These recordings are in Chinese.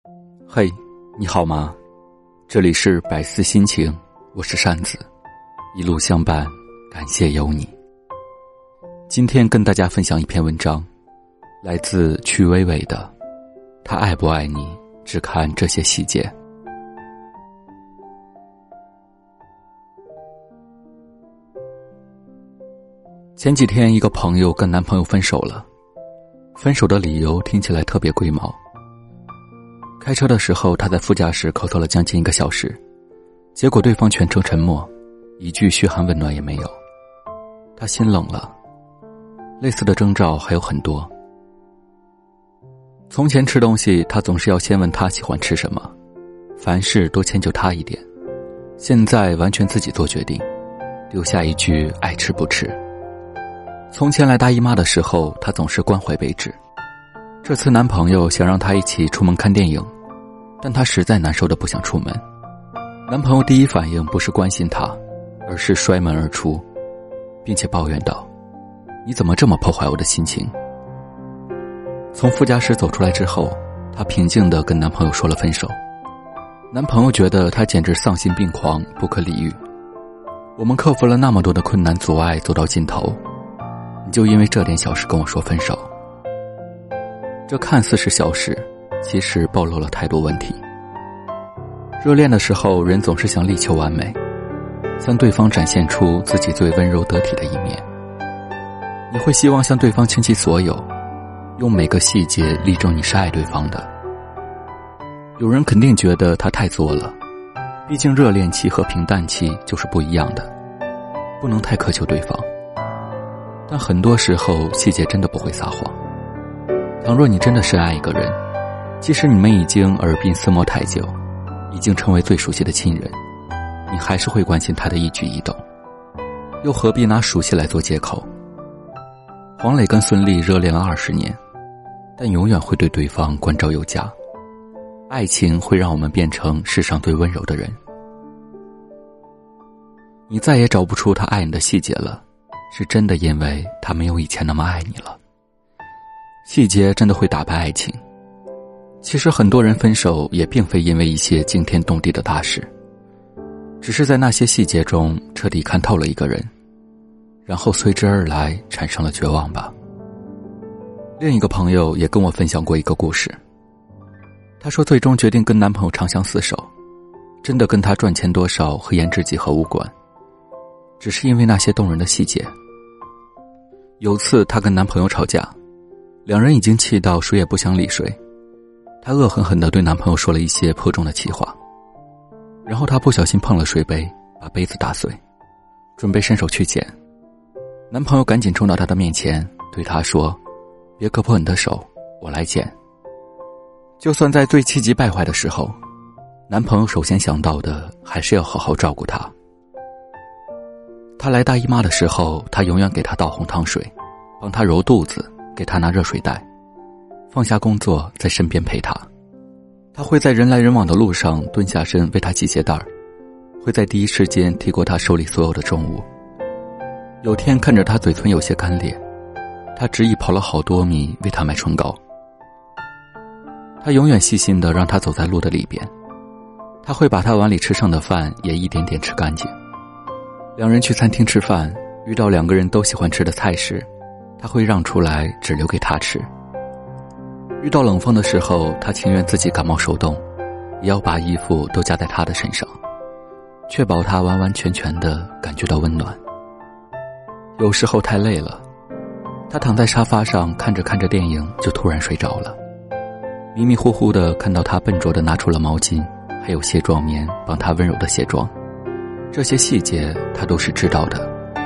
嘿，你好吗？这里是百思心情，我是扇子，一路相伴，感谢有你。今天跟大家分享一篇文章，来自曲伟伟的他爱不爱你，只看这些细节。前几天一个朋友跟男朋友分手了，分手的理由听起来特别龟毛。开车的时候，他在副驾驶咳嗽了将近1个小时，结果对方全程沉默，一句嘘寒问暖也没有。他心冷了。类似的征兆还有很多。从前吃东西，他总是要先问他喜欢吃什么，凡事多迁就他一点。现在完全自己做决定，留下一句爱吃不吃。从前来大姨妈的时候，他总是关怀备至。这次男朋友想让她一起出门看电影，但她实在难受的不想出门。男朋友第一反应不是关心她，而是摔门而出，并且抱怨道：你怎么这么破坏我的心情？从副驾驶走出来之后，她平静地跟男朋友说了分手。男朋友觉得她简直丧心病狂，不可理喻。我们克服了那么多的困难阻碍，走到尽头，你就因为这点小事跟我说分手。这看似是小事，其实暴露了太多问题。热恋的时候，人总是想力求完美，向对方展现出自己最温柔得体的一面。你会希望向对方倾其所有，用每个细节力证你是爱对方的。有人肯定觉得他太作了，毕竟热恋期和平淡期就是不一样的，不能太苛求对方。但很多时候，细节真的不会撒谎。倘若你真的深爱一个人，即使你们已经耳鬓厮磨太久，已经成为最熟悉的亲人，你还是会关心他的一举一动，又何必拿熟悉来做借口？黄磊跟孙俪热恋了20年，但永远会对对方关照有加。爱情会让我们变成世上最温柔的人。你再也找不出他爱你的细节了，是真的因为他没有以前那么爱你了。细节真的会打败爱情。其实很多人分手也并非因为一些惊天动地的大事，只是在那些细节中彻底看透了一个人，然后随之而来产生了绝望吧。另一个朋友也跟我分享过一个故事。她说最终决定跟男朋友长相厮守，真的跟他赚钱多少和颜值几何无关，只是因为那些动人的细节。有次她跟男朋友吵架，两人已经气到谁也不想理谁。她恶狠狠地对男朋友说了一些颇重的气话，然后她不小心碰了水杯，把杯子打碎，准备伸手去捡。男朋友赶紧冲到她的面前，对她说：别割破你的手，我来捡。就算在最气急败坏的时候，男朋友首先想到的还是要好好照顾她。她来大姨妈的时候，他永远给她倒红糖水，帮她揉肚子，给她拿热水袋，放下工作在身边陪她。他会在人来人往的路上蹲下身为她系鞋带，会在第一时间提过她手里所有的重物。有天看着她嘴唇有些干裂，他执意跑了好多米为她买唇膏。他永远细心地让她走在路的里边，他会把她碗里吃剩的饭也一点点吃干净。两人去餐厅吃饭，遇到2个人都喜欢吃的菜时，他会让出来只留给他吃。遇到冷风的时候，他情愿自己感冒受冻，也要把衣服都加在他的身上，确保他完完全全地感觉到温暖。有时候太累了，他躺在沙发上看着看着电影就突然睡着了，迷迷糊糊地看到他笨拙地拿出了毛巾还有卸妆棉帮他温柔地卸妆，这些细节他都是知道的。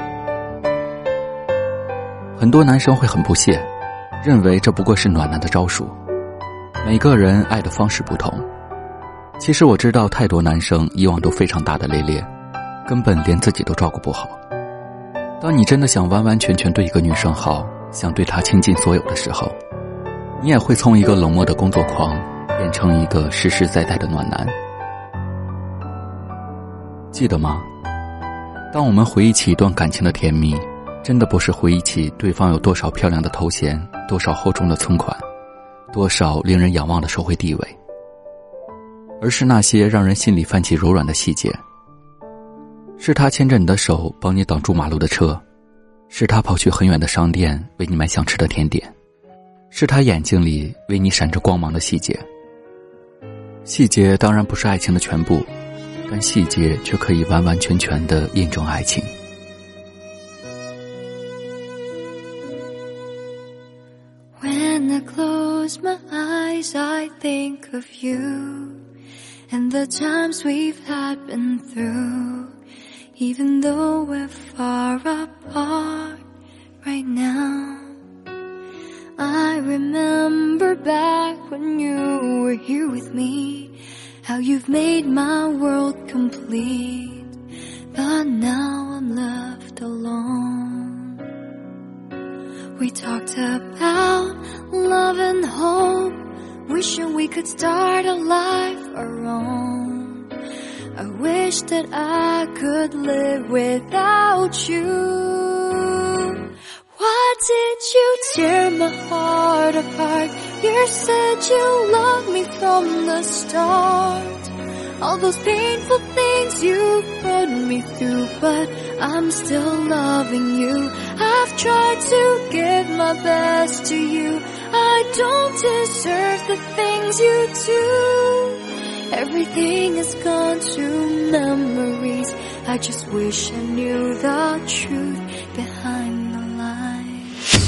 很多男生会很不屑，认为这不过是暖男的招数。每个人爱的方式不同，其实我知道太多男生以往都非常大大咧咧，根本连自己都照顾不好。当你真的想完完全全对一个女生好，想对她倾尽所有的时候，你也会从一个冷漠的工作狂变成一个实实在在的暖男。记得吗？当我们回忆起一段感情的甜蜜，真的不是回忆起对方有多少漂亮的头衔，多少厚重的存款，多少令人仰望的社会地位， 而是那些让人心里泛起柔软的细节。是他牵着你的手帮你挡住马路的车，是他跑去很远的商店为你买想吃的甜点，是他眼睛里为你闪着光芒的细节。细节当然不是爱情的全部，但细节却可以完完全全地印证爱情。 When I close my eyes, I think of you and the times we've had been through. Even though we're far apart right now, I remember back when you were here with me, how you've made my world complete. But now I'm left alone. We talked about love and hope, wishing we could start a life our own. I wish that I could live without you. Why did you tear my heart apart? You said you loved me from the start. All those painful things you put me through, but I'm still loving you. I've tried to give my best to you. I don't deserve the things you do. Everything is gone to memories. I just wish I knew the truth behind the lies.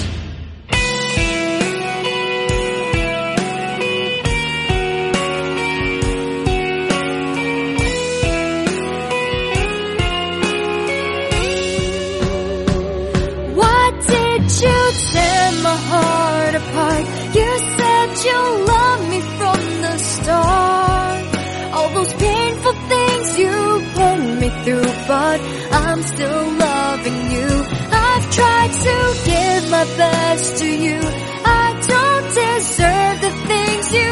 Why did you tear my heart apart? You said you loved me from the start. All those painful things you put me through, but I'm still loving you. I've tried to give my best to you. I don't deserve the things you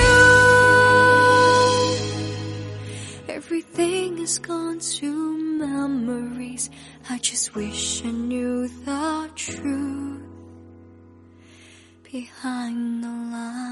do. Everything is gone to memories. I just wish I knew the truth behind the lies.